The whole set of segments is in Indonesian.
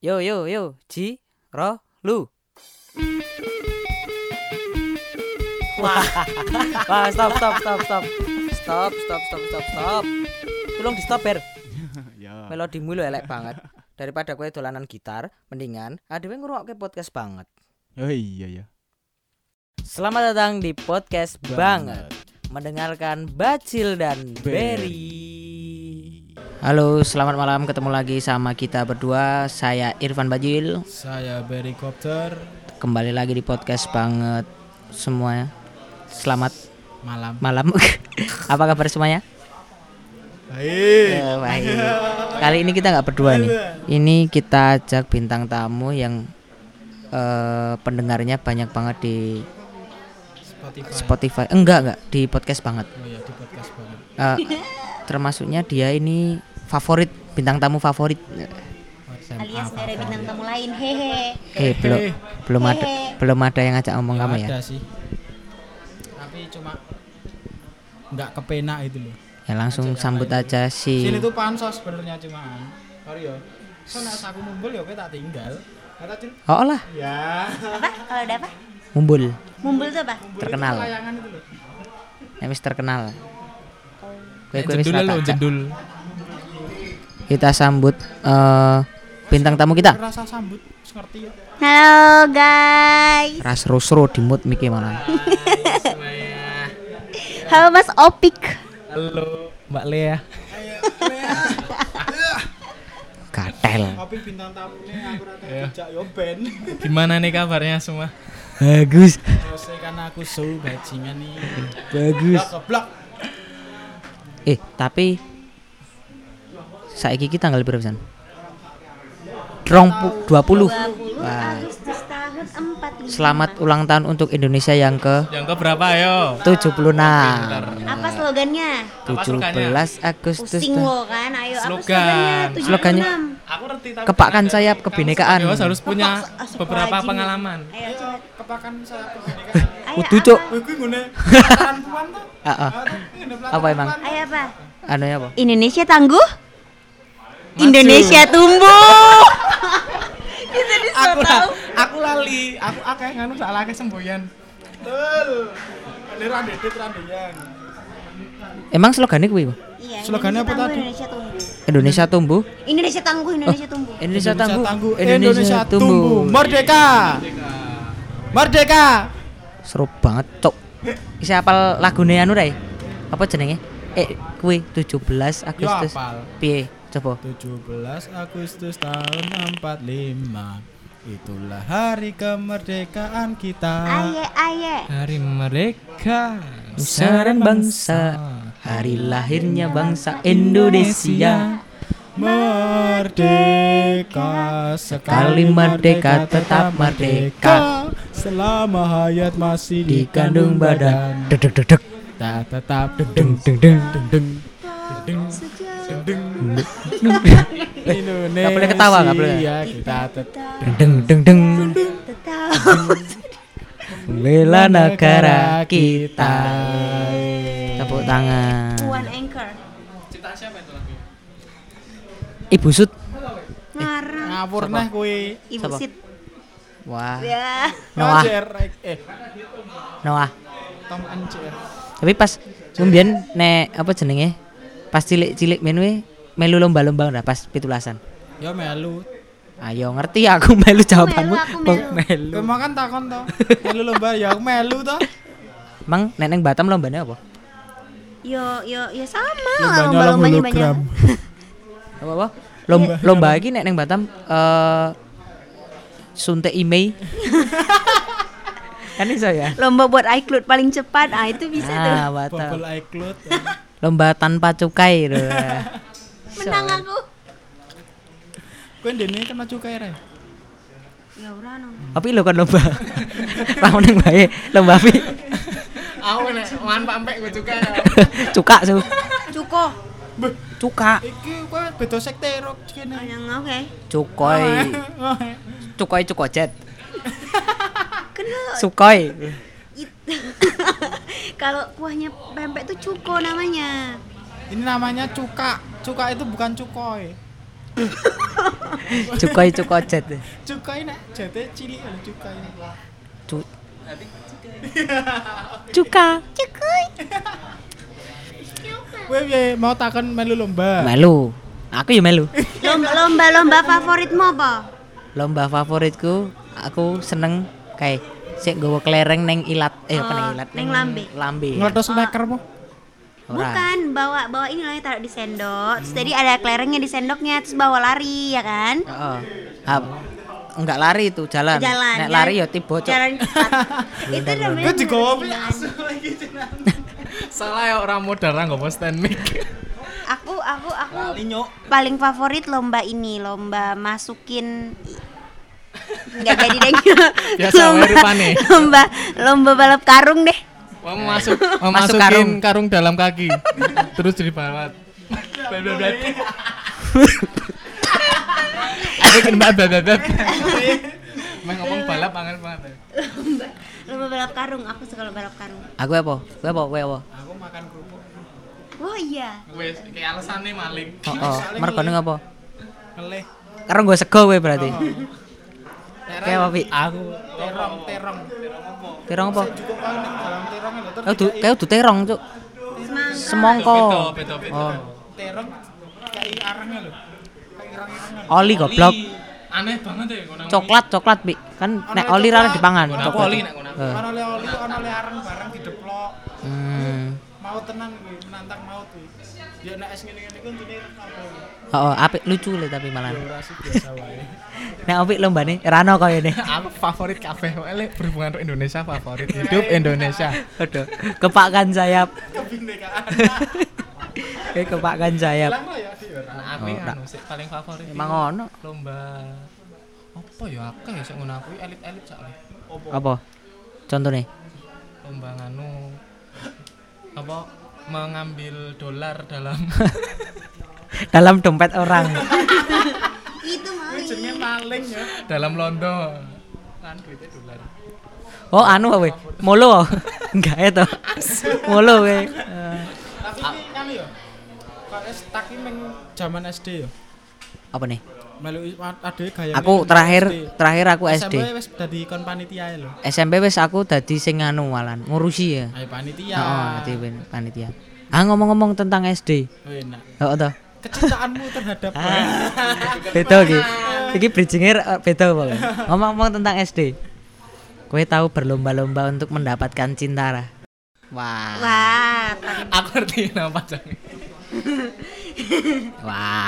Yo yo yo, Ji, Ro, Lu. Wah, stop. Tolong di stop, Ber. Ya. Melodimu lu elek banget. Daripada kowe dolanan gitar, mendingan adewe ngrungokke podcast banget. Oh iya. Selamat datang di podcast banget. Mendengarkan Bacil dan Berry. Halo, selamat malam, ketemu lagi sama kita berdua. Saya Irfan Bajil. Saya Berry Copter. Kembali lagi di podcast banget semuanya. Selamat malam. Apa kabar semuanya? Baik. Kali ini kita nggak berdua nih. Ini kita ajak bintang tamu yang pendengarnya banyak banget di Spotify. Enggak di podcast banget. Oh iya, di podcast banget. Termasuknya dia ini favorit, bintang tamu favorit. Alias dari bintang tamu lain, hehe. Belum ada yang ngajak ngomong kamu ya? Ada sih. Tapi cuma nggak kepenak itu loh. Ya langsung sambut aja Sini si. tuh pansos sebenarnya cuman. Sorry yo. Soalnya aku mumbul ya kowe tak tinggal. Kata Cil. Oh lah, Apa? Ya. Kalau ada apa? Mumbul, Mumbul itu apa? terkenal. Itu layangan itu loh. Wis terkenal. Kowe wis Jendul lo, rata. jendul. Kita sambut bintang tamu kita. Rasa sambut, ngerti ya. Halo guys. Ras Rusro di mood Miki malah. Halo Mas Opik. Halo, Mbak Lea. Gatel. Tapi bintang tamunya aku rata dijak yo ben. Gimana nih kabarnya semua? Bagus. Terus karena aku suhu bajingan nih. Bagus. Keblak. Tapi saiki kita tanggal berapa san? 20. 20 Wah. Agustus tahun 45. Selamat ulang tahun untuk Indonesia yang Yang ke berapa ayo? 76. Apa slogannya? 17 Agustus. Pusing lo kan. Ayo apa Slogan. Slogannya? 76. Aku ngerti tapi Kepakan sayap kebinekaan. Dewas harus punya Astagfirullahaladzim. beberapa pengalaman. Ayo coba. Kepakan saya kebinekaan. Ayo, Kudu, apa? Cuk. Wih, gue ngene. Pelataran puan tuh. Apa emang? Ayo apa? Anu ya apa? Indonesia tangguh. Maju. Indonesia tumbuh. Aku lali, aku akeh nganu salah akeh semboyan. Betul. Ada randedet randeyan. Emang slogannya kuwi, Bu? Iya. Slogannya apa tadi? Indonesia tunggu. Indonesia tumbuh. Indonesia tangguh. Indonesia tumbuh. Indonesia tangguh. Indonesia tumbuh. Merdeka. Merdeka. Seru banget, Cok. Isi apal lagune anu Rai? Apa jenenge? Kuwi 17 Agustus. apal. Piye? Coba. 17 Agustus tahun 45. Itulah hari kemerdekaan kita. Aye. Hari merdeka Nusa dan bangsa, hari lahirnya bangsa Indonesia. Merdeka Sekali merdeka tetap merdeka. Selama hayat masih Dikandung badan. badan. Dedek. Tak tetap Deng deng deng. Indonesia. Nggak boleh ketawa, nggak boleh. Kita tetap Deng deng deng. Tetap. Bela negara kita. Tepuk tangan. One anchor. Cita siapa itu lagi? Ibu Sud. Ngarang. ngawur Siapa? nah kuwi. Ibu Siapa? Sit. Wah. Ya. Noah. Noah. Tom Anjer. Tapi pas mbien nek apa jenenge? Pas cilik-cilik men we melu lomba-lomba ora pas 17-an. Ya melu. Ayo ngerti aku melu jawabanmu. aku melu. Melu. Emang kan takon to. Melu lomba ya aku melu to. Emang nek neng Batam lombane apa? Yo sama. Lombanya Lomba-lombanya hologram. banyak. Apa? Lomba iki nek neng Batam suntik email. Kan iso ya? Lomba buat iCloud paling cepat. Ah itu bisa tuh. Batam. Bubble iCloud. Lomba tanpa cukai lho. Menang aku. Kowe ndene kena cukai ra? Ya ora no. Tapi lo kan lomba. Lawan neng bae, lomba api. Aku nek mangan pampek gue juga ya. Cuka su. Cuko. Cuka. Iki kowe beda sekte rok kene. Yang oke. Cukoy. Cukoy cukocet. Kena. Sukoi. Kalau kuahnya pempek tuh cuko namanya. Ini namanya cuka. Cuka itu bukan cukoy. Cukai cukojet. Cukai nek jete cilik lho cukai. Cu- Cuka. Kowe piye mau takon melu lomba? Melu. Aku ya melu. Lomba favoritmu apa? Lomba favoritku aku seneng kayak sik nggawa kelereng neng ilat apa neng ilat neng lambe. Lambe. Ngledos leker po. Ora. Bukan, bawa ini loh yang taruh di sendok. Terus tadi ada kelerengnya di sendoknya, terus bawa lari ya kan? Heeh. Enggak lari itu jalan. Nek lari ya tiba cok. Jalan cepat. Itu namanya. Kok digowo pi jalan. asu iki tenan. Salah ya orang modal ra nggowo stand mic. Aku Lali nyok. paling favorit lomba ini, lomba masukin nggak jadi deh. Biasa wae rupane. Lomba balap karung deh. Masukin karung dalam kaki. Terus dibawa. Ada kan babab. Ngomong balap angel banget. Lomba balap karung, aku suka lomba balap karung. Aku apa? Kowe apa? Aku makan kerupuk. Oh iya. Wes kayak alasane maling. Heeh. Mergone apa? Ngelih. Karo nggo sego kowe berarti. Kayak apa, Pi? Aku terong. Terong apa? Cukup kau ning dalam terong lho terus. Kayak udah terong, Cuk. Semongko. Beda. Oh. Terong kayak arangnya lho. Kayak irang-irangan. Oli goblok. Aneh banget ya ngono. Coklat, Pi. Kan nek oli ra dipangan. Aku oli nek ngono. Ono oli, ono arang barang dideplok. Mau tenang kuwi, menantang maut kuwi. Ya nek es ngene-ngene ku intine apa? Heeh, apik lucu le tapi malah. Ora sih biasa wae. Nek apik lombane rano koyo ne. Aku favorit kabeh wae berhubungan karo Indonesia favorit hidup Indonesia. Aduh, kepakkan sayap. Kebinekaan. Kepakkan sayap. Lang ya Dik. Aku anu sih paling favorit. Emang ono. Lomba apa ya akeh ya sing ngono aku elit-elit sakle. Apa? Contohnya? Lomba nganu apa mengambil dolar dalam Dalam dompet orang. Itu maling. Jenenge maling ya. dalam londo kan duitnya dolar. Oh, anu kowe. Molo. Enggak ya to. Molo kowe. Tapi iki nganu ya. Kok es taki meng zaman SD ya. Apa nih? Melu ade gayane. Aku terakhir aku SD. SMP wis dadi kon panitia lho. SMP wis aku dadi sing anu malan, ngurusi ya. Ayo panitia. Heeh, dadi panitia. Ngomong-ngomong tentang SD. Oh, enak. Heeh to. Kecintaanmu terhadap Beda iki. Iki bridging-e beda apa? Ngomong-ngomong tentang SD. Kowe tahu berlomba-lomba untuk mendapatkan cinta ra? Wah. Wah, Aku ngerti nama pacarnya. Wah.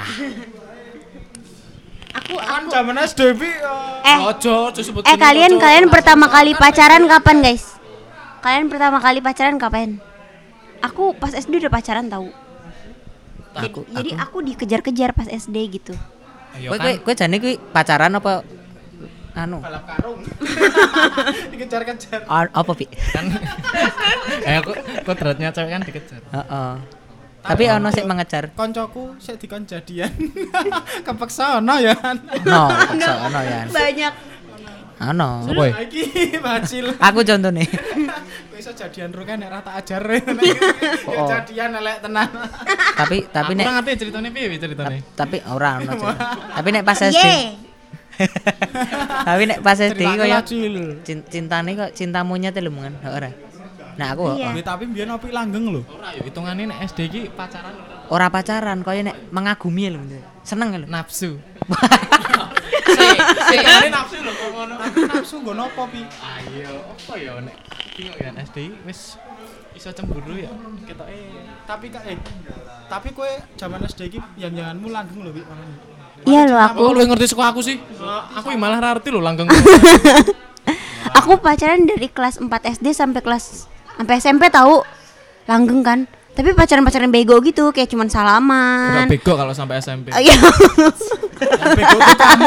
aku kan zaman SD bi. Ojo sebut kalian pertama kali pacaran kapan, guys? Kalian pertama kali pacaran kapan? Aku pas SD udah pacaran tahu. Jadi aku dikejar-kejar pas SD gitu. Kowe jane kuwi pacaran apa anu? Balap karung. Dikejar-kejar. Apa Pi? kan aku kodratnya cewek kan dikejar. Heeh. Tapi ono sik mengejar. Koncoku sik dikon jadian. Kepeksa ono ya. No, paksa ono ya. Banyak. Ono. Apa ya? Iki bacil. Aku contone. Kowe iso jadian ro kan nek ra tak ajar. Oh. Jadian elek tenan. Tapi Aku nek ora ngerti ceritanya piye ceritanya. tapi ora ono. Tapi nek pas SD. Ye. Tapi nek pas SD koyo Cil. cintane kok cinta monyet lho mungan ora. Nah aku Iya. Tapi mbiyen opi langgeng lho. Ora yo hitungane nek SD iki pacaran ora pacaran koyo nek mengagumi lho. Seneng lho. nafsu. Sik nafsu lho kok ngono. Tapi nafsu nggo nopo pi? Ayo, apa ya nek bingung ya SD wis iso cemburu ya. Ketoke Tapi kowe zaman SD iki yang-janganmu langgeng lho pi. Iya loh aku aku. lu ngerti suku aku sih. Aku malah ra ngerti lho langgeng. Aku pacaran dari kelas 4 SD sampai SMP tahu. Langgeng kan. Tapi pacaran bego gitu, kayak cuman salaman. Enggak bego kalau sampai SMP. Iya. Bego tuh kamu.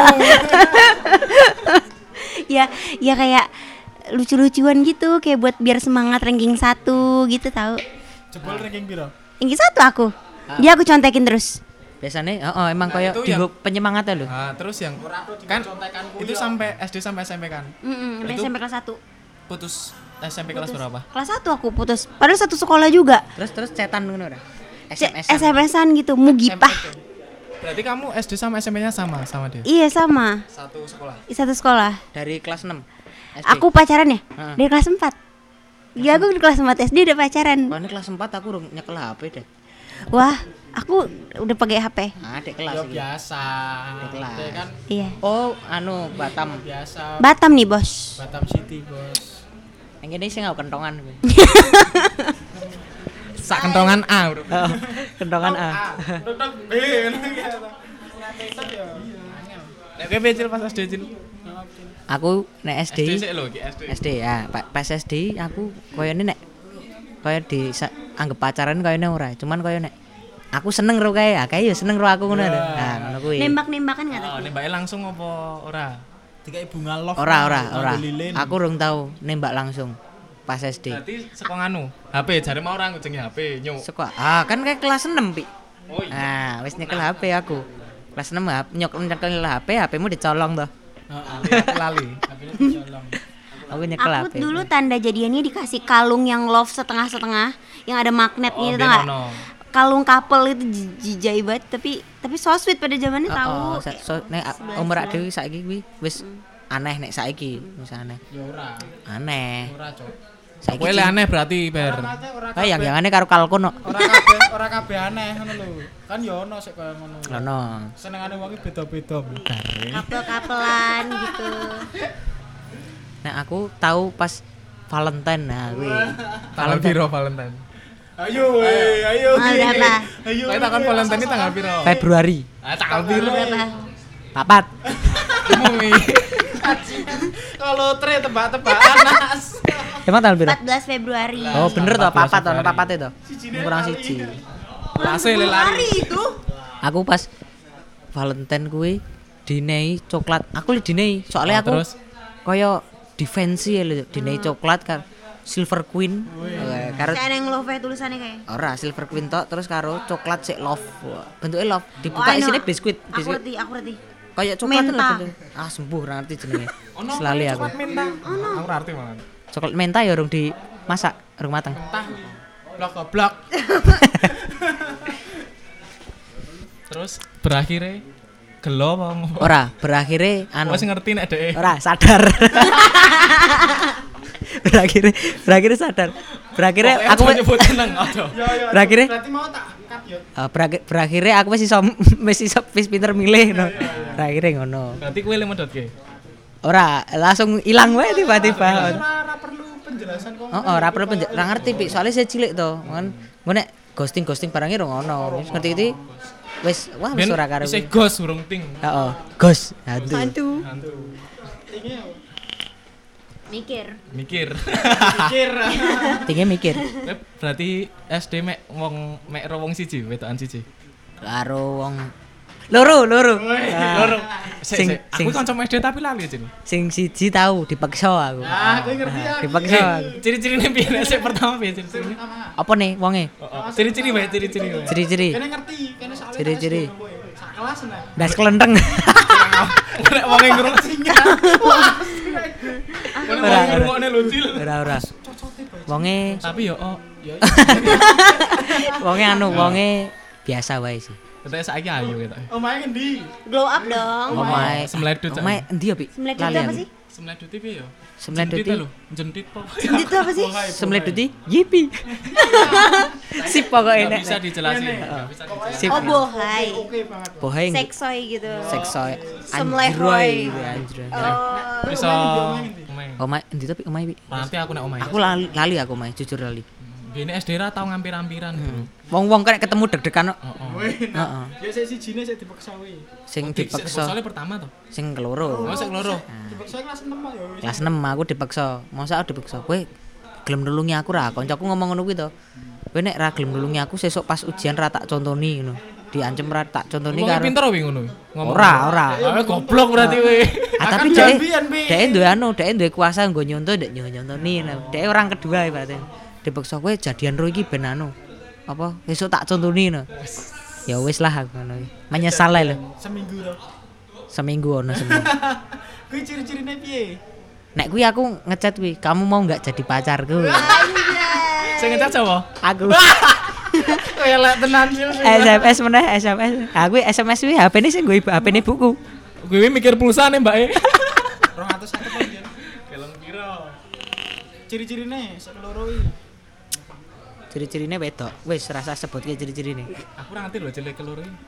Ya kayak lucu-lucuan gitu, kayak buat biar semangat ranking 1 gitu tahu. Jebol ranking piro? Ranking 1 aku. Dia aku contekin terus. Biasane emang koyo itu dienggo penyemangatnya lho. Nah, terus yang kan itu sampai SD sampai SMP kan. Itu- SMP kelas 1. Putus SMP kelas berapa? Kelas 1 aku putus. Padahal satu sekolah juga. Terus cetan ngono ora? SMS-an gitu, Mugipah. Berarti kamu SD sama SMP-nya sama dia? Iya sama. Satu sekolah. Satu sekolah. Dari kelas 6 SD. Aku pacaran ya? Heeh. Dari kelas 4. Ya aku di kelas 4 SD udah pacaran. Wah, ini kelas 4 aku udah nyekel HP deh. Wah, aku udah pakai HP. Adik kelas Ya iki. biasa. Kelas. Dia kan Iya. Oh, anu Batam. biasa. Batam nih, Bos. Batam City, Bos. Yang ini sih nggak kentongan. Sak kentongan A, Bro. Oh, kentongan A. Dok B ngono ya. Sak ya. Nek kowe Cil pas SD Cil. Aku nek SD SD. sik lho iki SD. SD ya, pas SD aku koyone nek koyo anggap pacaran koyone ora, cuman koyo nek aku seneng ro kae, kae ya seneng ro aku ngono lho. Nah, ngono kuwi. Nembak-nembakan enggak Oh, tadi? nembake langsung apa ora? Dikai bunga love. Ora. nganggo lilin. Aku urung tau nembak langsung pas SD. Berarti saka nganu, HP jare mau orang jenenge HP, nyuk. Suka. Kan kayak kelas 6, Pi. Oh iya. Wis nyekel HP aku. Kelas 6 nyekel HP-mu dicolong toh. Heeh. Lali. Habis dicolong. Aku nyekel Aku HP. dulu tanda jadiannya dikasih kalung yang love setengah-setengah yang ada magnetnya itu enggak? Kalung couple itu jijai banget tapi so sweet pada zamannya tahu. Nek umur ak dhewe saiki kuwi wis aneh nek saiki, wis aneh. Ya ora. Aneh. Ora, Cok. Saiki Kowe le aneh berarti, Ber. Ora kayak yang aneh karo kalkun kok. ora kabeh aneh ngono lho. Kan ya ono sik kaya ngono. Lono. Senengane wong iki beda-beda. Couple-couplean gitu. Nek aku tahu pas Valentine nah kuwi. Tanggal piro Valentine? Ayo ayo. Mau berapa? Ayo. Kowe takon Valentine iki tanggal piro? Februari Ah, tanggal piro? Berapa? 4. Ngomong Kalau tre tebak-tebakan Nas. Emang tanggal piro? 14 Februari. Oh, bener toh 14 papat toh, Februari. papate toh. Kurang siji. Lase le lari. itu. Aku pas Valentine kuwi dinehi coklat. Aku li dinehi, soalnya aku Terus koyo defensi lho, dinehi coklat kan Silver Queen. Karo Kayak yang love tulisannya kayak. ora Silver Queen tok terus karo coklat sik love. Bentuknya love, dibuka I know. isine biskuit. Aku ngerti. Kayak coklat lho Menta. bentuk. Sembuh ora ngerti jenenge. Selali aku. coklat minta. Aku ora arti malah. Coklat menta ya urung dimasak, urung mateng. Blok goblok. Terus berakhirnya gelo apa ngopo? Ora, berakhire anu. Wes ngerti nek dhek. Ora sadar. berakhirnya sadar. Berakhirnya aku nyebut jeneng aduh. Berakhirnya Berarti mau tak cut yo. berakhirnya aku wis pinter milih no. Berakhirnya ngono. Berarti kowe le medhotke. Ora, langsung ilang wae tiba-tiba. Ora perlu penjelasan kok. Ora perlu ora ngerti Pi, soalnya saya cilik to. Kan nek ghosting barangnya ora ngono. Wis ngerti iki wis wis ora karo. Isih ghost urung ting. Heeh, ghost hantu. Hantu. Ini Mikir. Mikir. mikir. Tinggi mikir. Berarti SD mek ro wong siji, wedokan siji. Karo wong loro. Loro. Sing- Aku sing- kanca SD tapi lali jeneng. Sing siji tahu dipaksa aku. Aku ngerti ya. Dipaksa aku. Ciri-cirine piye nek sik pertama piye ciri-cirine? Apa nih wonge? Ciri-ciri wae, ciri-ciri wae. Ciri-ciri. Kene ngerti, kene soalnya Ciri-ciri. sak kelas nah. Das kelenteng. Nek wong ngrungok Ora, ora. ngrungokne lucil. Ora. Wonge Tapi yo wonge biasa wae sih. Ketek saiki ayu ketok. Omahe ngendi? Glow up dong. Omae Semledut, Cak. Omae endi ya, Pi? Semledut Lali apa aku. sih? Semledut piye yo? Semledut Jentit lho, jentit po. Itu apa sih? Semleduti yipi. Sip pokoknya Enggak nek. bisa dijelasin. Enggak bisa dijelasin. Sip. Oh, bohai. Oke banget. Bohai Seksoy gitu. seksoy Semlehoy. anjroy. Oh. Bisa omae. Omae endi to, Pi? Omae, Pi? Nanti aku nek omae. Aku lali aku omae, jujur lali. Bene SD ra tau ngampir-ampiran, Bro. Wong-wong kok nek ketemu deg-degan kok. Heeh. Heeh. Ya sik sijine sik dipaksa wae. Sing Soalnya dipaksa, pertama tuh. sing keloro. Oh, sing loro. Dipaksa kelas 6 ya wis. Kelas 6 aku dipaksa. Masa aku dipaksa, kowe gelem nulungi aku ra? Koncoku ngomong ngono kuwi to. Kowe nek ra gelem nulungi aku sesuk pas ujian ra tak contoni ngono. Diancem ra tak contoni Wong karo. pinter wi ngono. Ora. Ah, goblok berarti kowe. Tapi Akan biyen, dhek duwe kuasa nggo nyonto ndek nyontoni. Dhek orang kedua ibaratnya. Dipaksa kowe jadian ro iki ben anu. Apa besok tak contoni no. Ya wis lah aku ngono. Menyesal ae lho. Seminggu to. Seminggu ono seminggu. Kuwi ciri-cirine piye? Nek kuwi aku ngechat kuwi, kamu mau enggak jadi pacarku? Sing ngecat sapa? Aku. Elek tenan sih. SMS meneh SMS. Aku SMS kuwi HP-ne sing gue HP-ne buku. Gue mikir pulsa nih, Mbak. 250 aja. Keleng piro? Ciri-cirine sekeloro iki. Ciri-cirine wedok. Wis rasa sebutke ciri-cirine. Aku ora ngerti lho jelek keloro iki.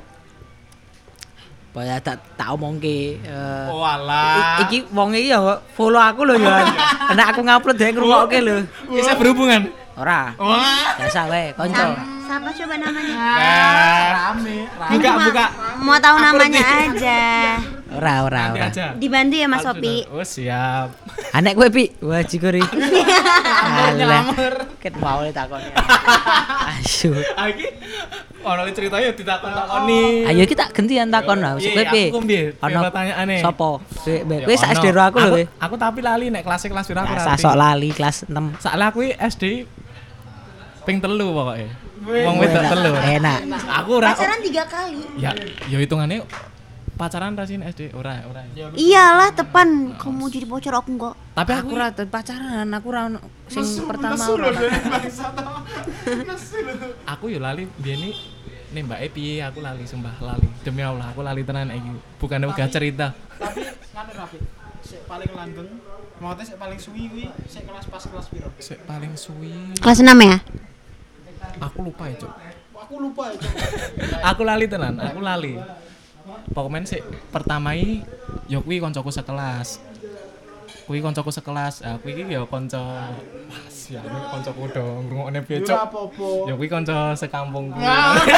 Bahaya tak omongke. Oh alah. Iki wong iki ya follow aku lho ya. Nek aku ngupload dhek ngrungokke lho. Bisa berhubungan. Ora. Wah. Biasa wae, kanca. Siapa coba namanya? Rame. Buka. Mau tahu namanya aja. Ora. Nanti aja. Dibantu ya Mas Sopi. Oh siap. Anek kowe pi. Wah jikuri. Nyelamer. Ket mau ditakoni. Asu. Iki ono cerita ya ditakon-takoni. Ayo kita gantian takon lah. Kowe pi. Aku piye? Ono Pertanyaane. Sopo? Kowe sak SD aku lho. Aku tapi lali nek kelas piro aku Rasa sok lali kelas 6. Salah aku SD ping 3 pokoknya. Wong wedok 3. Enak. Aku ora Pacaran 3 kali. ya hitungane pacaran rasin SD ora. Iyalah tepan. Kamu jadi bocor aku enggak. Tapi Aku ora pacaran, aku ora ono sing pertama ora. aku yo lali biyen nih Mbak piye aku lali sumpah lali. Demi Allah aku lali tenan iki. Bukan uga cerita. Tapi ngene Rafi. Sik paling langgeng, maksudnya sik paling suwi kuwi sik kelas piro? Sik paling suwi. Kelas 6 ya? Aku lupa ya, Cuk. Aku lupa itu. Aku lali tenan, aku lali. Pokoknya sik pertama iki yo kuwi koncoku sekelas. Kuwi koncoku sekelas. Aku iki ya kanca Mas ya koncoku do ngrungokne piye, Cuk. Ora apa-apa. Ya kuwi kanca sekampung kuwi.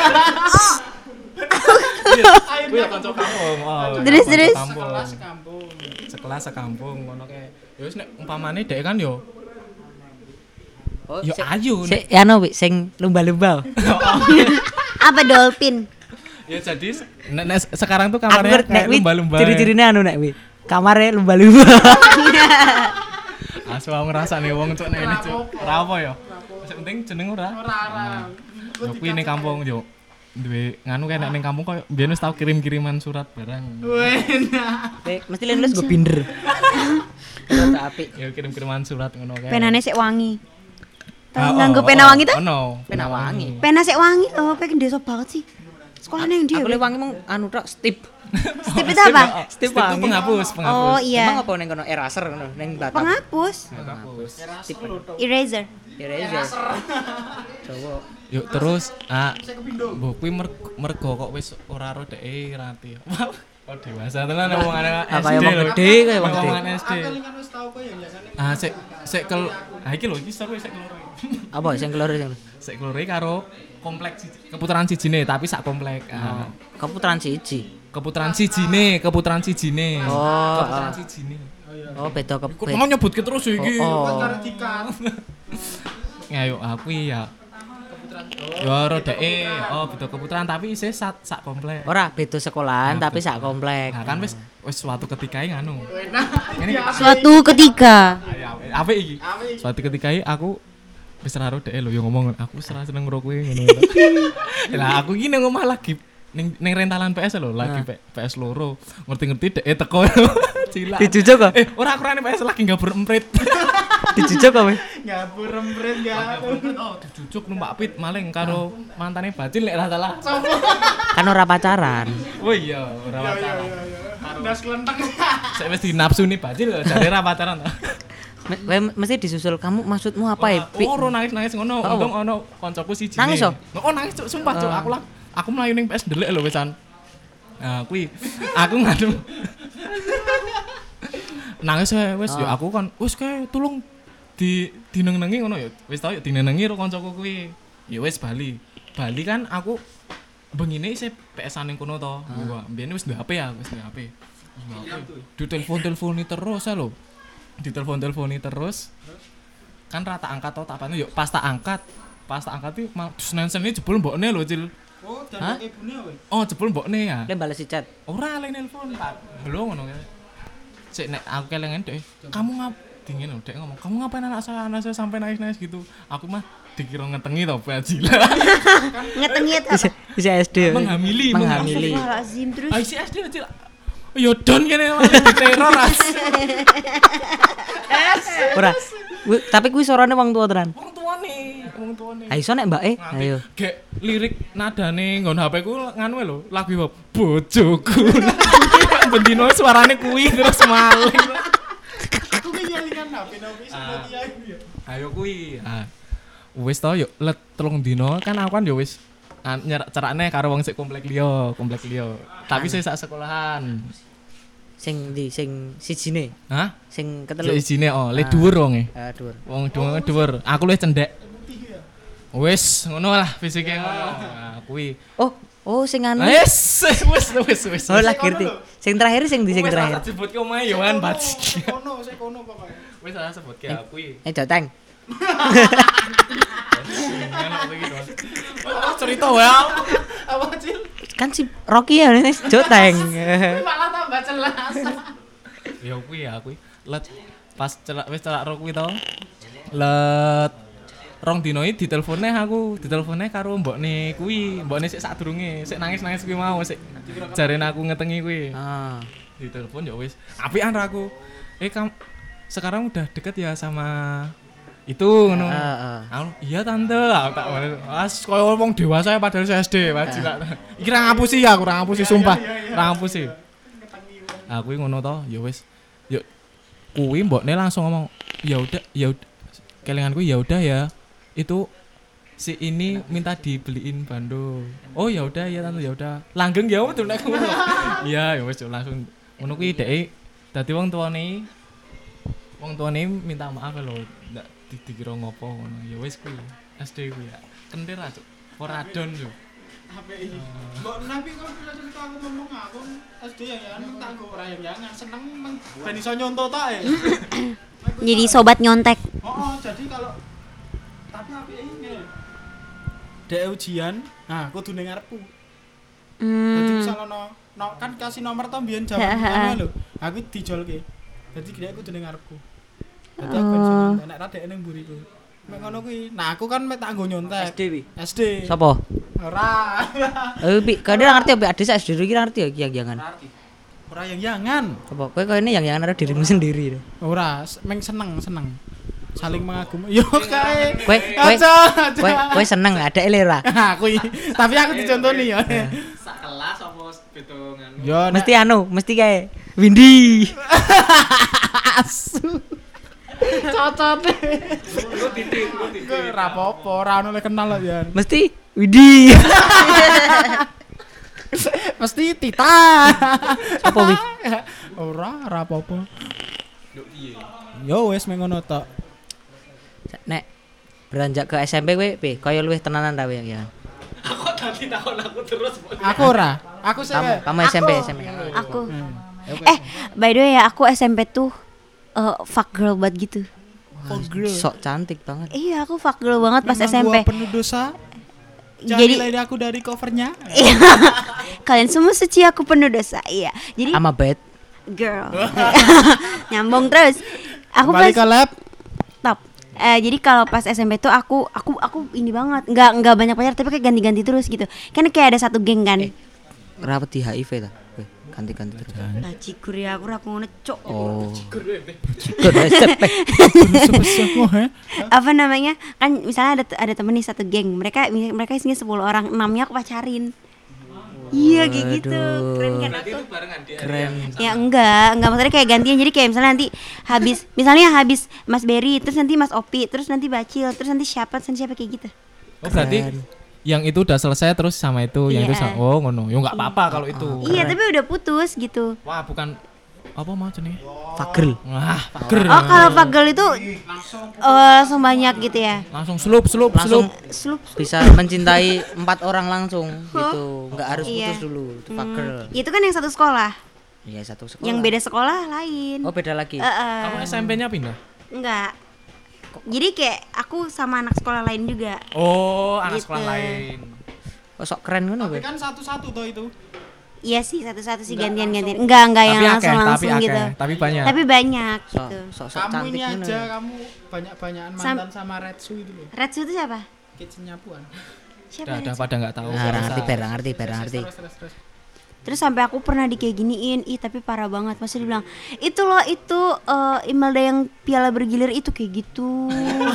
Kuwi ya kanca kampung. Oh. Terus. Kampung. Sekampung. Sekelas sekampung ngono kae. Ya wis nek umpamane dhek kan yo Oh, yo ayu nek. Sik anu wi sing lumba-lumba. Apa dolphin? Ya jadi nek sekarang tuh Aku kamarnya nek kayak wi lumba-lumba. ciri-cirine anu nek wi. Kamare lumba-lumba. Asu aku ngerasa nih wong cuk nek ini cuk. Ora apa ya. Sing penting jeneng ora. Ora. Yo kuwi ning kampung yo. Duwe nganu kayak nek ning kampung koyo biyen wis tau kirim-kiriman surat barang. Enak. Mesti lulus gue binder. Rada apik. Ya kirim-kiriman surat ngono kae. Penane sik wangi. Tahu nganggo pena wangi ta? Ono, Pena wangi. Pena sik wangi. Oh, pengen desa banget sih. Sekolahnya yang dia. Aku le wangi mung anu tok stip. Stip itu apa? Stip itu penghapus. Oh iya. Emang apa ning kono eraser ngono ning Batam. Penghapus. Penghapus. Eraser. Eraser. Coba. Yuk terus mbok kuwi mergo kok wis ora ro dhek rati. Oh dewasa tenan omongane SD. Kayak wong gede kayak wong gede. Omongan SD. Kelingan wis tau kok ya biasane. Sik iki lho iki seru sik keloro. Apa sing keloro sing? Sik keloro karo komplek keputaran sijine tapi sak komplek. Keputaran siji. Keputaran sijine. Oh. Keputaran sijine. Oh, beda Kok mau nyebutke terus ya iki. Oh. Karo dikat. Ya yuk aku ya. Yo ro dhek beda keputaran tapi isih sak komplek. Ora beda sekolahan tapi sak komplek. Nah kan wis suatu ketika nganu. Suatu ketika. Apa iki? Suatu ketika aku wis ora ro dhek lho yo ngomong aku wis ora seneng karo kowe ngono. Lah aku iki nang omah lagi ning rentalan PS lho, lagi PS loro. Ngerti-ngerti dhek teko. Cilak. Dijujuk kok? Ora akurane PS lagi gabur emprit. Dijujuk kok kowe? Ngabur empret ya. Oh, dijujuk numpak pit maling karo mantane Bacil nek ora salah. Kan ora pacaran. Oh iya, ora pacaran. Das kelenteng. Saya wis dinapsuni Bacil jare ora pacaran. Kowe mesti disusul kamu maksudmu apa ya? Pi? Ora nangis ngono, Oh. untung ono koncoku siji. Nangis, oh? Oh nangis Cuk, sumpah Cuk, aku mlayu ning PS ndelik lho wisan. Nah, kuwi aku ngadu. Nangis wis yo aku kan wis kae tulung dinenengi ngono ya. Wis tau ya dinenengi karo koncoku kuwi. Ya wis Bali kan aku bengine isih PS-an ning kono to. Gua mbiyen wis duwe HP ya, wis duwe HP. Ditelepon-teleponi terus lho. Ditelepon-teleponi terus. Kan rata angkat to tak yo pas tak angkat iki Senin-Senin jebul mbokne lho, Cil. Oh, dan ibune kowe. Oh, jebul mbokne ya. Le bales chat. Ora le nelpon, Pak. Belum ngono kae. Sik nek aku kelengen Dek, kamu dingin lho, Dek ngomong, "Kamu ngapain anak saya sampai nangis-nangis gitu?" Aku mah dikira ngetengi to, Bajil. Ngetengi apa? Bisa SD. Menghamili. Astagfirullahaladzim terus. Ah, si SD Cil. Yo don kene diteror as. Ora. Tapi kuwi sorone wong tua tenan. Wong wong tuane. Ayo nek Mbak ayo. Gek lirik nadane nggon HP ku nganu lho, lagu hip hop bojoku. Bendino suarane kuwi terus maling. Aku ki ngelingan HP nopo iso kiai ya. Ayo kuwi. Wis to yo let 3 dino kan aku kan yo wis cerakne karo wong sik komplek liya. Tapi sik sak sekolahan. Sing sijine. Hah? Sing ketelu. Sijine le dhuwur wonge. Dhuwur. Wong dhuwur. Aku luwih cendhek. Wis ngono lah fisike ngono. Kuwi. Oh sing anu. Wis. Oh lah ngerti. Sing terakhir sing terakhir. Wis sebutke omahe Yohan Baji. Sik kono pokoke. Wis salah sebutke kuwi. Joteng. Cerita wae. Apa Cil? Kan si Rocky ya Joteng. Malah tambah jelas. Ya kuwi let pas wis celak ro kuwi to. Let rong dino iki ditelepone karo mbokne kuwi, mbokne sik sadurunge, sik nangis-nangis kuwi mau sik jarene aku ngetengi kuwi. Ditelepon ya wis apian ra aku. Sekarang udah deket ya sama itu ngono. Iya tante, aku tak koyo wong dewasa padahal saya SD, wajib tak. Iki ra ngapusi sumpah. Ra ngapusi. Aku ngono to, ya wis. Yo kuwi mbokne langsung ngomong, ya udah. Kelinganku ya udah ya. Itu si ini minta dibeliin bando. Oh ya udah ya tante ya udah. Langgeng ya betul nek ngono. Iya ya wis langsung ngono kuwi dhek dadi wong tuane minta maaf lho ndak dikira ngopo ngono. Ya wis kuwi SD kuwi ya. Kentir aja. Ora adon yo. HPI. Mbok nabi kok cerita aku ngomong aku SD yang tak go ora yang jangan seneng ben iso nyonto tok e. Jadi sobat nyontek. Jadi kalau tapi HPI ngene. Dek ujian, kudu ning ngarepku. Dadi misal ono kan kasih nomor to mbiyen jaman lho. Aku dijolke. Dadi dek kudu ning ngarepku. Dadi aku ben nyontek nek ra dek ning mburiku. Mek ngono kuwi. Nah, aku kan mek tak nggo nyontek. SD wi. SD. Sopo? Ora. Bi, kadang ngerti adik SD dulu kira ngerti ya yang jangan. Ora yang jangan. Apa kowe ini yang jangan ada dirimu sendiri. Ora, meng seneng. Saling mengagumi. Yo kae. Kowe seneng ada elera. Kuwi. Tapi aku dicontoni ya. Sak kelas apa beda nganu. Yo Mesti kae Windy. Asu. Cocote. Lu titik. Ora apa-apa, ora ono le kenal lho ya. Mesti Windy. Mesti Tita. Apa wi? Ora apa-apa. Yo wis meng ngono tok. Nek beranjak ke SMP kowe piye? Kaya luwih tenanan ta kowe ya? Aku tadi takon aku terus. Aku ora. Aku sih kamu SMP. Aku. By the way ya aku SMP tuh fuck girl banget gitu. Sok cantik banget. Iya, aku fuck girl banget pas SMP. Gua penuh dosa. Jadi nilai aku dari covernya. Kalian semua suci, aku penuh dosa. Iya. Jadi Ama bad girl. Nyambung terus. Aku Balik ke pas lab. top. Jadi kalau pas SMP tuh aku ini banget. Enggak banyak pacar tapi kayak ganti-ganti terus gitu. Kan kayak ada satu geng kan. Rawat di HIV ta? Ganti-ganti terus. Cikur ya, aku ngono cok. Oh. Cikur Apa namanya? Kan misalnya ada temen nih satu geng. Mereka isinya 10 orang, 6-nya aku pacarin. Iya kayak gitu. Keren kan aku? Keren. Ya enggak maksudnya kayak gantian. Jadi kayak misalnya nanti habis Mas Berry, terus nanti Mas Opi, terus nanti Bacil, terus nanti siapa kayak gitu. Oh berarti yang itu udah selesai terus sama itu, yang itu Iya. oh ngono. Ya enggak apa-apa kalau itu. Iya, tapi udah putus gitu. Wah, bukan apa mau nih? Fagel. Wah, pager. Oh, kalau pagel itu langsung banyak gitu ya. Langsung slup. Langsung Slup. bisa mencintai 4 orang langsung gitu. Enggak harus Iya. putus dulu. Itu fagel. Itu kan yang satu sekolah. Iya, satu sekolah. Yang beda sekolah lain. Oh, beda lagi. Kamu SMP-nya pindah? Enggak. Jadi kayak aku sama anak sekolah lain juga. Oh, anak Gitu. sekolah lain. Oh, sok keren ngono kowe. Tapi kan satu-satu toh itu. Iya sih, satu-satu sih gantian-gantian. Enggak yang langsung gitu. Tapi banyak. Tapi banyak Sok gitu. sok Kamu cantik ini ngono. aja, kamu banyak-banyakan mantan sama Redsu itu loh. Redsu itu siapa? Kitchen nyapuan. Siapa? Udah pada enggak tahu. Nah, ngerti. Terus. Terus sampai aku pernah kayak giniin, tapi parah banget. Masih dibilang, itu loh Imelda yang piala bergilir itu kayak gitu.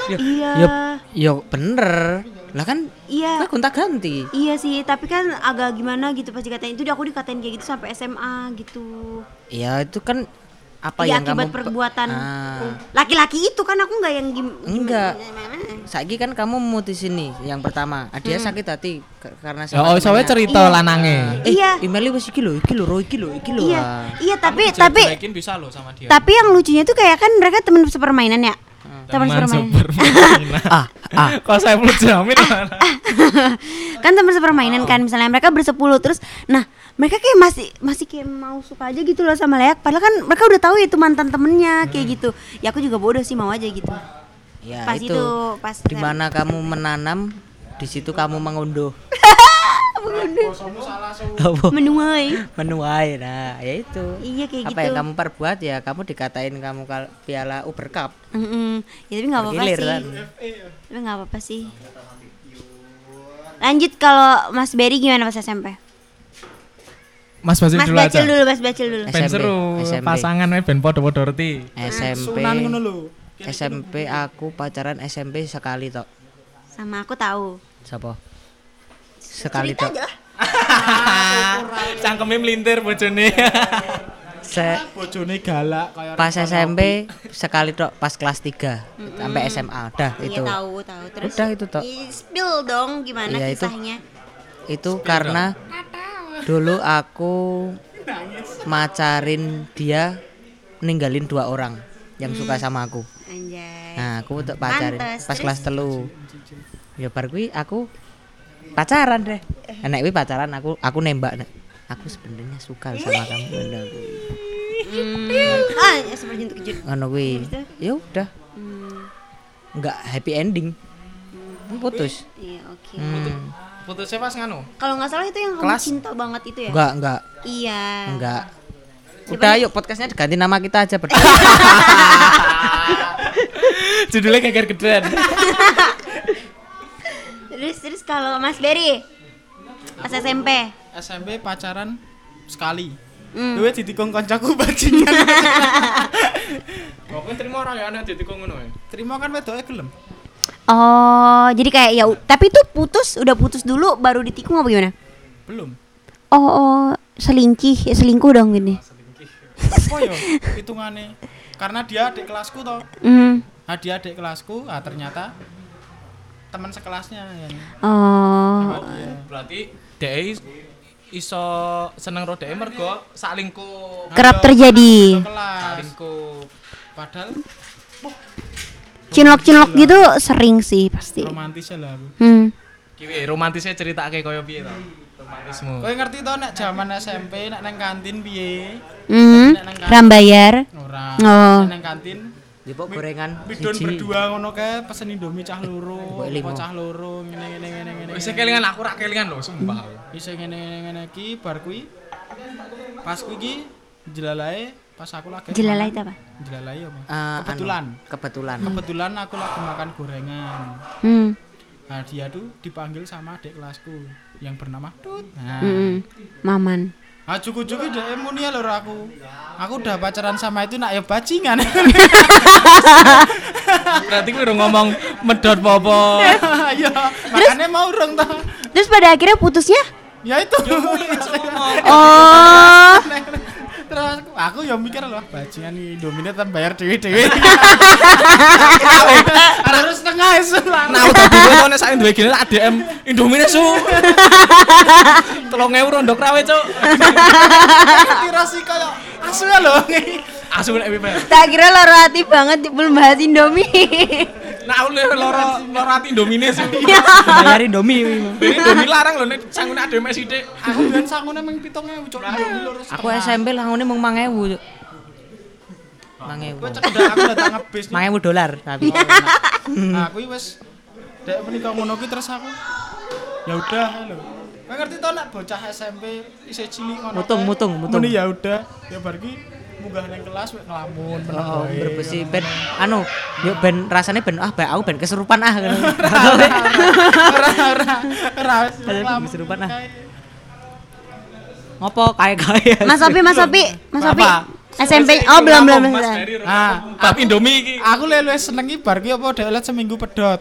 Iya. Yo bener. Lah kan Iya. kowe gonta-ganti. Iya sih, tapi kan agak gimana gitu pas dikatain itu, aku dikatain kayak gitu sampai SMA gitu. Iya itu kan apa Iya, yang akibat kamu perbuatan Ah. laki-laki itu kan, aku nggak yang Enggak. Saiki kan kamu memutusin nih yang pertama. Dia sakit hati karena Ya oh soalnya cerita lanange. Iya. Emailnya wis iki lho. Iya, Ah. iya tapi Jelek-jelekin bisa loh sama dia. tapi yang lucunya tuh kayak kan mereka teman sepermainan ya. Teman sepermainan. Kok saya perlu jamin Kan teman sepermainan kan, misalnya mereka bersepuluh terus, nah mereka kayak masih kayak mau suka aja gitu loh sama Leak, padahal kan mereka udah tahu itu mantan temennya kayak gitu. Ya aku juga bodoh sih, mau aja gitu. Ya Pas itu. pas Di mana kamu menanam, di situ kamu mengunduh. Apa? Menuai. Nah, ya itu. Iya kayak Apa gitu. yang kamu perbuat ya kamu dikatain kamu piala Uber Cup. Ya tapi nggak apa-apa Bergilir, sih. kan? Tapi nggak apa-apa sih. Lanjut, kalau Mas Berry gimana pas SMP? Mas Bacil Mas dulu aja. Bacil dulu. Ben seru SMP. pasangan we ben podo-podo reti. SMP. Sunan ngono lho. SMP aku pacaran SMP sekali tok. Sama aku tahu. Siapa? Sekali Cerita tok. aja. Cangkeme melintir bojone. Bojone galak kayak Pas SMP sekali tok pas kelas 3 sampai SMA. Dah itu. Iya tahu. Terus Udah itu tok. Spill dong gimana Iya, itu. kisahnya? Itu karena dulu aku macarin dia, ninggalin 2 orang yang suka sama aku. Anjay. Nah, aku untuk pacarin Pantes, pas terus? kelas 3. Ya bar kuwi aku pacaran deh. Nek kuwi pacaran aku nembak nek. Aku sebenarnya suka sama kamu. Ngono kuwi. Ya seperti untuk kejut. Ngono kuwi. Ya udah, enggak happy ending. Putus. Iya, oke. Putusnya pas nganu. Kalau nggak salah itu yang kamu Kelas? cinta banget itu ya? Enggak. Iya. Enggak. Udah yuk podcastnya diganti nama kita aja berdua. Judulnya geger gedean. Terus kalau Mas Berry pas SMP. SMP pacaran sekali. Hmm. Duwe ditikung kancaku bajingan. Kok terima ora ya ana ditikung ngono ya. Terima kan wedoke gelem. Oh, jadi kayak ya tapi itu udah putus dulu baru ditikung apa gimana? Belum. Oh, selingkuh dong gini. Apa ya hitungane? Karena dia adik kelasku toh. Nah, dia adik kelasku, ternyata teman sekelasnya yang Oh. Berarti dhek iso seneng ro dhek mergo salingkuh. Kerap terjadi. kelas. Salingkuh. Padahal Cinlok gitu sering sih pasti. romantis lah aku. Ki romantisnya ceritake koyo piye to? Romantismu. Kowe ngerti toh nek zaman SMP nek nang kantin piye? Rambayar. Ora. Oh. Nek nang kantin Dipok gorengan bidon siji. berdua ngono kae pesen Indomie cah loro, Mbok limo. apa cah loro ngene. Wis kelingan aku ora kelingan lho, sumpah. Iso ngene iki bar kuwi. Pas kuwi iki jelalae pas aku lagi Jelalai itu apa? Jelalae apa? Kebetulan. Kebetulan aku lagi makan gorengan. Nah, dia tuh dipanggil sama adik kelasku yang bernama Tut. Nah, Maman. cukup-cukup dia muni lho aku. Aku udah pacaran sama itu nak ya bajingan. Berarti kowe udah ngomong medot popo. Iya, makanya mau urung toh. Terus pada akhirnya putusnya? Ya itu. Oh. Terus aku ya mikir loh, bajingan nih Indomie tetap bayar dewe-dewe. Harus setengah isu lah. Nah, udah dhewe to nek sak duwe gini ADM Indomie su. 3.000 rondok rawe, Cuk. Kira sih kayak asu ya loh. Asu nek pipe. Tak kira loro hati banget belum bahas Indomie. Nah, loro ati Indomie su. Bayar Indomie. Indomie larang lho nek sangune ADM sithik. Aku biyen sangune mung 7.000 cuk. Aku SMP langune mung 5.000. 5.000. Kowe cedak aku datang ngebis. 5.000 dolar tapi. Nah, aku wis dek menika ngono ki terus aku. Ya udah lho. Kowe ngerti to nek bocah SMP isih cilik ngono. Mutung. Muni ya udah, ya bar ki munggah nang kelas wek ngelamun meneng Oh, wae. berbesi ben yuk ben rasane ben aku ben kesurupan ngono. Ora Ngelamun. Kesurupan Ngopo kae. Mas Opi. Apa? SMP. Oh, belum. Mas Ferry Aku Indomie iki. Aku luwih senengi bar ki apa dhek let seminggu pedot.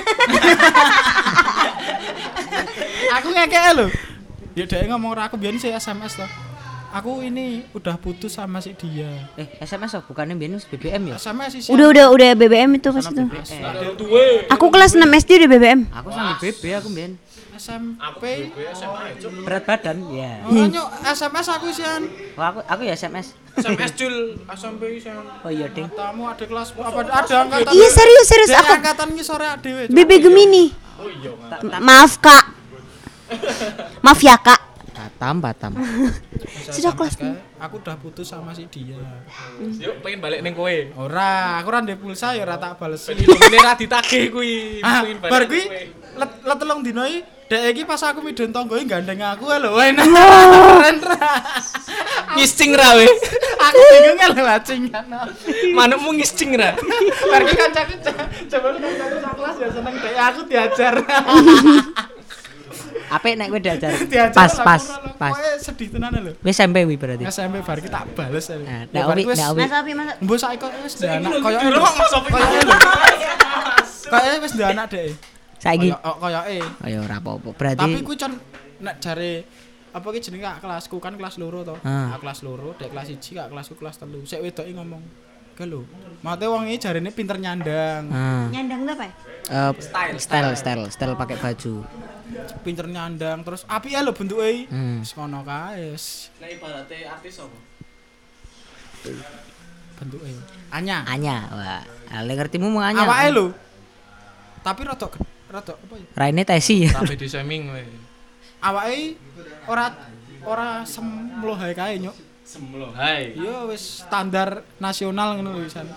Aku ngekek lho. Ya dhek ngomong ora aku biyen sih SMS toh. Aku ini udah putus sama si dia. SMS bukannya biyen BBM ya? SMS sih. Udah BBM itu pas itu. Aku kelas 6 SD udah BBM. Aku sama BB aku biyen. SMP. Berat badan ya. Makanya SMS aku sian. Oh, aku ya SMS. SMS Jul SMP sian. Oh iya ding. Tamu ada kelas apa ada angkatan. Iya serius Dek, aku. angkatan ki sore dhewe. BB Gemini. Maaf Kak. Maaf ya Kak. Batam. Sudah kelas. Aku udah putus sama si dia. Yuk pengen balik ning kowe. Ora, aku ora ndek pulsa ya ora tak bales. Ini ra ditagih kuwi. Pengen balik Bar ning kuwi kowe. let telung dino iki dek iki pas aku midun tanggoe gandeng aku lho. Keren ra. Ngiscing ra we. Aku bingung lho lacingan. Manukmu ngiscing ra. Bar ki kancaku coba kancaku sak kelas ya seneng dek aku diajar. Apik nek kowe diajar. Diajar Pas. Pokoke sedih tenan lho. Wis SMP wi berarti. SMP bar ki tak bales. Nah, nek Owi. Mas Opi, Mas. Mbok saiki kok wis ndek anak koyo Dulu kok Mas Sofi. Kayak wis ndek anak dek. Saiki. Koyoke. Oh ya ora apa-apa. Berarti Tapi ku con nek jare apa ki jenenge kak kelasku kan kelas loro to. Aku kelas loro, dek kelas 1 kak kelasku kelas 3. Sik wedoke ngomong, "Ke lho, mate wong iki jarene pinter nyandang." Nyandang tuh apa ya? Style pakai baju. Pinter nyandang terus apik ya lho bentuke. Wis ngono kae. Nek ibarate artis apa? Bentuke. Anya. Wah, ale ngertimu mau Anya. Awake lho. Tapi rada apa ya? Raine tesi. Sampai di shaming we. Awake ora semlohae kae nyuk. Semlo. Hai. Iya wis standar nasional ngono lho wisan.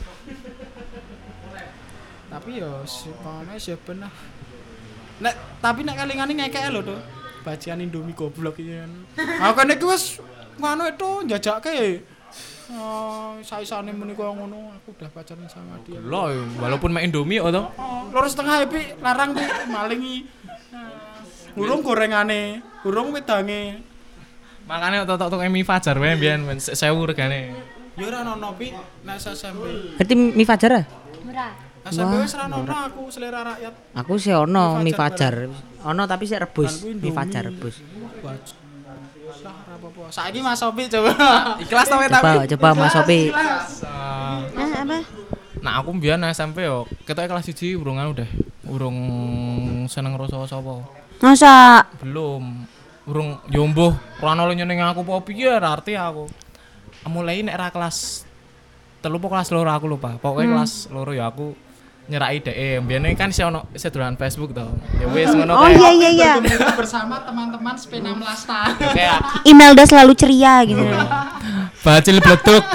Tapi yo sepane sih bener. Tapi nek kalingane ngekek lho to. Bajikan Indomie goblok iki kan. Aku kan iki wis ngono itu njajake. Saisane muni koyo ngono, aku udah pacaran sama dia. Lho, walaupun main Indomie to. Loro setengah Pi, larang Pi, malingi. Urung gorengane, urung wedange. Makane tok mie Fajar wae mbiyen 1000 regane. Ya ora ono Pi, nek SMP. Berarti mie Fajar ah? Murah. SMP wis ra ono aku selera rakyat. Aku sih ono mie Fajar. Ono tapi sih rebus, mie Fajar rebus. Lah ora apa-apa. Saiki Mas Sopi coba. Ikhlas to tapi. Coba Mas Sopi. Apa? Nah, aku mbiyen SMP yo, ketoke kelas 1 urung seneng rasa sapa. Masa? Belum. Urung yo mbuh ora ono nyeneng aku apa piye ora arti aku. Mulai nek ra kelas 3 apa kelas 2 aku lupa. Pokoke kelas 2 ya aku nyerai dhek. Mbiyen kan isih ono sedolan Facebook to. Ya wis ngono Oh kae. iya. Bersama teman-teman P16 ta. Kayak Imelda selalu ceria gitu. bacil bleduk.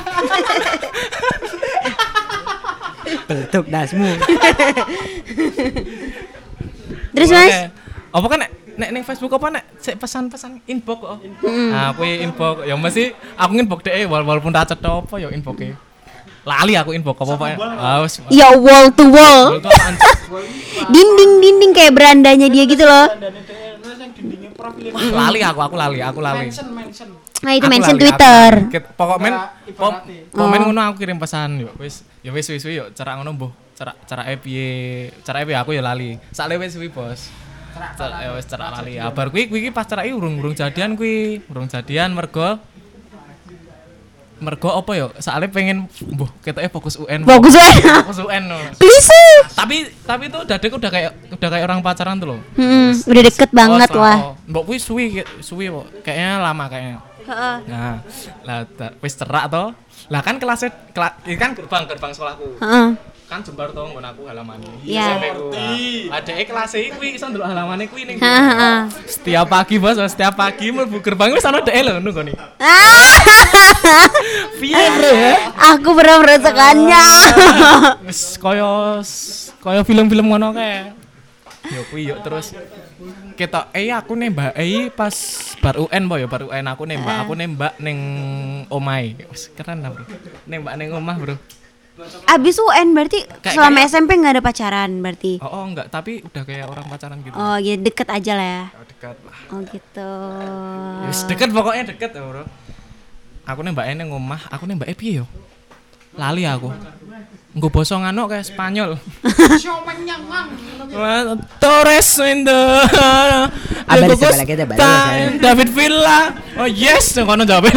Betuk dasmu. Terus Mas? Apa kan nek ning Facebook apa nek sik pesan-pesan inbox kok. Nah, kuwi inbox ya mesti aku inbox dhek walaupun ra cetha apa ya inbox-e. Lali aku inbox apa Pak. Wis. Ya wall to wall. Dinding kayak berandanya dia gitu loh. Lali aku lali. Mention. Nah itu Aku mention lali, Twitter. Pokok men Ibaratnya. komen ngono aku kirim pesan yo wis yo cara ngono mbuh cara piye aku ya lali sak wis suwi bos ya wis cara lali bar kuwi pas cara urung jadian mergo apa yo sakle pengen mbuh ketoke fokus UN Bagus banget. fokus UN no. Please. tapi itu dadek udah kayak orang pacaran tuh loh Udah deket banget wah. mbok kuwi suwi kok kayaknya lama kayaknya. Nah, lah wis cerak to. Lah kan kelasnya kan gerbang sekolahku. Heeh. Kan jembar to nggon aku halamane. Iya. Adeke kelas e kuwi iso ndelok halamane kuwi ning. Heeh. Setiap pagi bos, setiap pagi mlebu gerbang wis ana dhek lho nunggu. Piye bro ya? Aku pernah merasakannya. Wis kaya film-film ngono kae. Ya kuwi yuk terus ketok aku nembak pas bar UN bar UN aku nembak ning omahe. Wis keren lah bro. Nembak ning omah bro. Abis UN berarti selama SMP nggak ada pacaran berarti. Oh enggak, tapi udah kayak orang pacaran gitu. Oh ya deket aja lah ya. Oh, dekat lah. Oh gitu. Wis deket pokoknya deket ya bro. aku nembake ning omah, aku nembake piye yo? Lali aku. Engko basa ngano kayak Spanyol. Torres in the David Villa. Oh yes, kono jawab.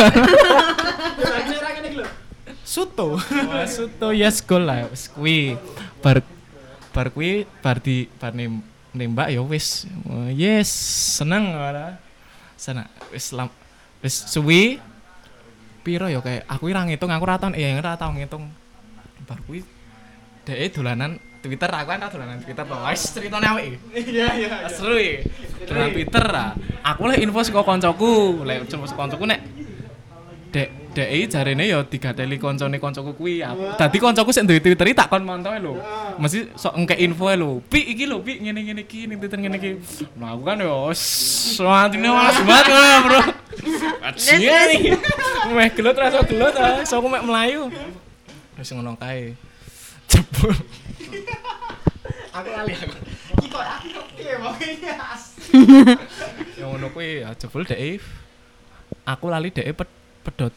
Suto. Suto yes gol lah wis kuwi. Bar kuwi bar nembak ya wis. Yes, seneng ora. Seneng wis suwi. Piro ya kayak aku ora ngitung, aku ora tau ngitung. Bar kuwi dhek dolanan Twitter, aku kan dolanan Twitter to. Wis critane awake. Iya. Seru iki. Dolanan Twitter ah. Aku lek info saka koncoku, lek koncoku nek dek jarene ya digateli koncoku kuwi. Dadi koncoku sik duwe Twitter tak kon montoe lho. Mesti sok engke info lho. Pi iki lho, pi ngene iki ning Twitter ngene iki. Nah aku kan ya swatine malas banget ngono, Bro. Aciye. Meh gelut rasa gelut ah. So aku mek melayu. Wis ngono kae. Jebul. Aku lali aku. Iki kok aku piye wae as. Ya ngono kuwi jebul dek. Aku lali dek pedot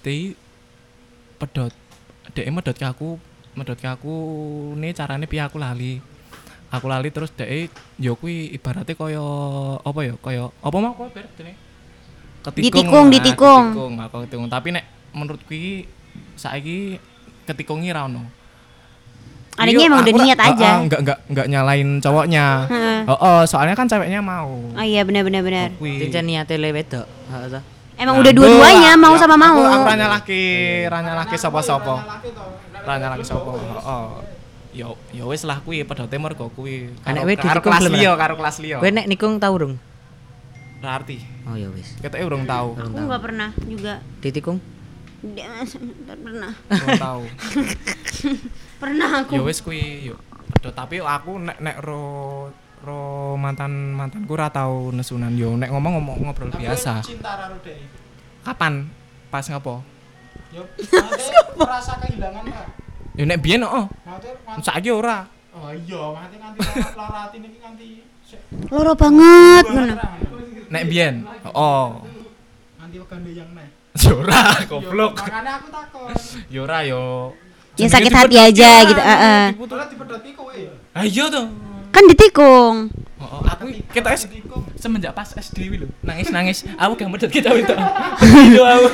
dek medot ke aku ne carane piye aku lali terus dek yo kuwi ibaratnya kaya apa ya kaya apa mau kok berarti ditikung aku ketikung tapi nek menurut kuwi saiki ketikungi ra ono adanya emang udah niat aja enggak nyalain cowoknya soalnya kan ceweknya mau iya benar Cincin niate le wedok heeh. Emang udah dua-duanya mau sama mau. Aku ra nyalahke sapa-sapa. Ra nyalahke sapa. Ya wis lah kuwi pedote mergo kuwi. Karo kelas liya. Kowe nek nikung tau urung? Ra arti. Oh ya wis. Ketoke urung tau. Aku enggak pernah juga. Ditikung? Enggak pernah. Urung tau. Pernah aku. Ya wis kuwi yo. Pedot tapi aku nek ro mantanku ora tau nesunan yo nek ngobrol biasa. Cinta karo dhek. Kapan? Pas ngopo? Yo merasa kehilangan Pak. Yo nek biyen saiki ora. Oh iya, nganti lara ati niki nganti Loro banget ngono. Nek biyen. Nganti wegane yang neh. Yo ora, goblok. Makane aku takon. Yo ora yo. Ya sakit hati aja gitu, Diputulnya dipedoti kowe. Ah iya to. Kan ditikung. Aku kita semenjak pas SD wi lho. Nangis. Aku gak medhot kita itu. Itu aku.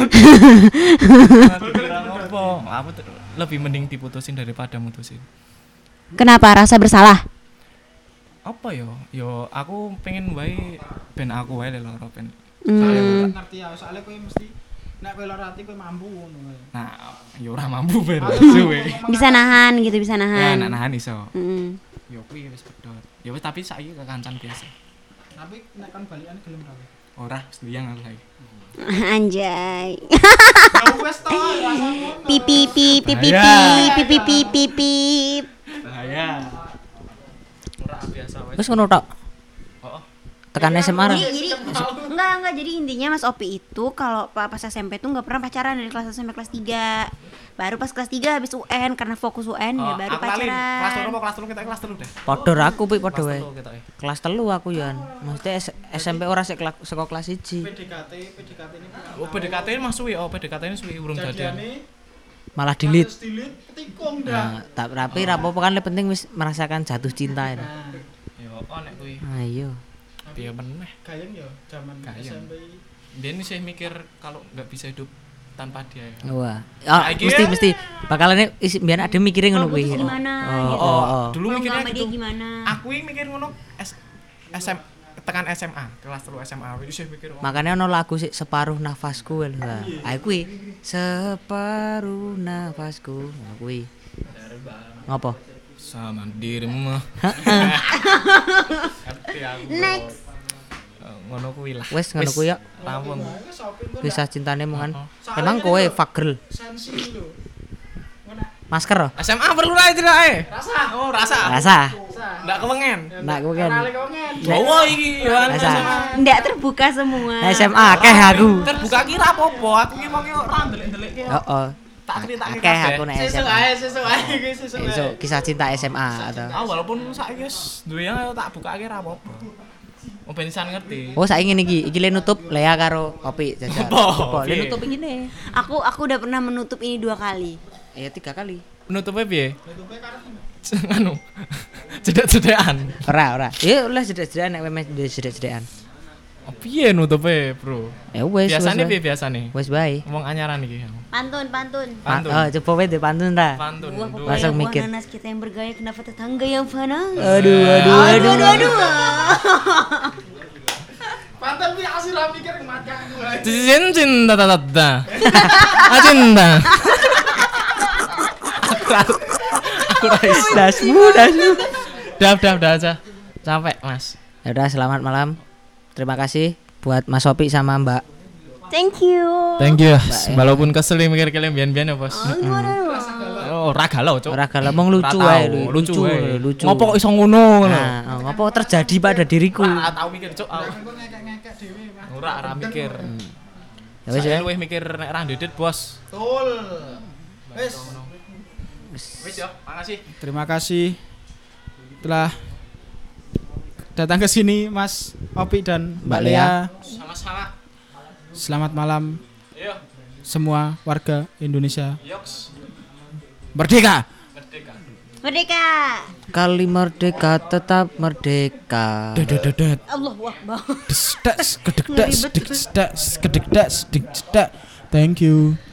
Aku lebih mending diputusin daripada mutusin. Kenapa? Rasa bersalah? Apa yo? Yo aku pengen wae ben aku wae loro ben. Soale ngerti ya, soalnya kowe mesti nek kowe lara ati kowe mampu ngono. Nah, yo ora mampu ben. Suwe. Bisa nahan gitu, bisa Ya, nahan. nahan iso. Heeh. Yo kuwi wis pedhot. Ya wis tapi saiki kekancan biasa. Tapi nek kon balikan gelem ra? Ora, liyang aku saiki. Anjay. Ya wis to, Pipi. Bahaya. Ora biasa wae. Wis ngono tok. Heeh. Tekan SMA ra. Jadi enggak jadi intinya Mas Opi itu kalau pas SMP tuh enggak pernah pacaran dari kelas 1 sampai kelas 3. Baru pas kelas 3 habis UN karena fokus UN ya baru pacaran. Kelas 2 apa kelas 3 kita kelas 3 deh. Padha aku pi padha wae. Kelas 3 kita. Kelas 3 aku yo. Maksudnya SMP ora sik saka kelas 1. PDKT ini. Oh, PDKT mah suwi, PDKT ini suwi urung jadian. Malah delete. Delete ketikung dah. Nah, tapi ra apa-apa kan penting wis merasakan jatuh cinta itu. Ya apa nek kuwi? Ayo. Piye meneh? Gayeng ya zaman SMP. Biyen sih mikir kalau enggak bisa hidup tanpa dia. Wah. Mesti bakalan biar ada mikirin ngono kuwi. Gimana gitu. Dulu mikirnya gitu. Gimana? Aku mikir ngono tekan SMA, kelas 3 SMA wis mikir. Makanya ono lagu sih separuh nafasku lho. Aku kuwi separuh nafasku. Kuwi. Ngopo? Sama dirimu. Next. Ngono kuwi lah. Wes ngono kuwi ya. Rampung. Kisah cintane mongan. Emang kowe fuck girl. Sensi lho. Masker loh. SMA perlu ra ceritake. Rasa. Ndak kewengen. Jowo iki yo Ndak terbuka semua. SMA akeh aku. Terbuka kira apa-apa, aku ki mau ora ndelik-ndelik. Heeh. Tak critakake Akeh aku nek SMA. Sesuk ae. Kisah cinta SMA atau walaupun saiki wis duwe yang tak bukake ra apa-apa. Oh benisan ngerti. Oh saiki ngene iki le nutup Lea karo Opi jajal. Apa? Le nutup iki ne. Aku udah pernah menutup ini 2 kali. Ya 3 kali. Penutupnya piye? Anu. Jedak-jedakan. Ora. Ya oleh jedak-jedakan nek memes jedak-jedakan. Oh, piye nutupnya, Bro? Ya wes. Biasane piye biasane? Wes bae. Ngomong anyaran iki. Pantun. Pantun. Oh, coba wae deh pantun ta. Pantun. Buah Duh. pepaya, Langsung buah mikir. nanas kita yang bergaya, kenapa tetangga yang panas? Aduh. Pantai pi asih ra mikir mataku. Cinta tata. Cinta. Aku rais. dasmu. Dah aja. Sampai, Mas. Ya udah selamat malam. Terima kasih buat Mas Opi sama Mbak. Thank you. Thank you. Walaupun kesel mikir kalian bian-bian ya, Bos. Oh, ora galau, Cuk. Ora galau mong lucu Ora wae tau, lucu wae. lucu. Ngopo kok iso ngono ngono? Nah, ngopo terjadi pada diriku. Ora tau mikir, Cuk. Ngekek dhewe Mas. Ora mikir. Ya wis Saya ya. luwih mikir nek ra ndedit, Bos. Betul. Wis. Wis ya, makasih. Terima kasih telah datang ke sini Mas Opi dan Mbak Lea. Sama-sama. Selamat malam Ayo, semua warga Indonesia. yoks. Merdeka. Merdeka. Merdeka. Kali merdeka tetap merdeka. Dedededet. Allahu Akbar. Desdas kedekdas kedekdas kedekdas. Thank you.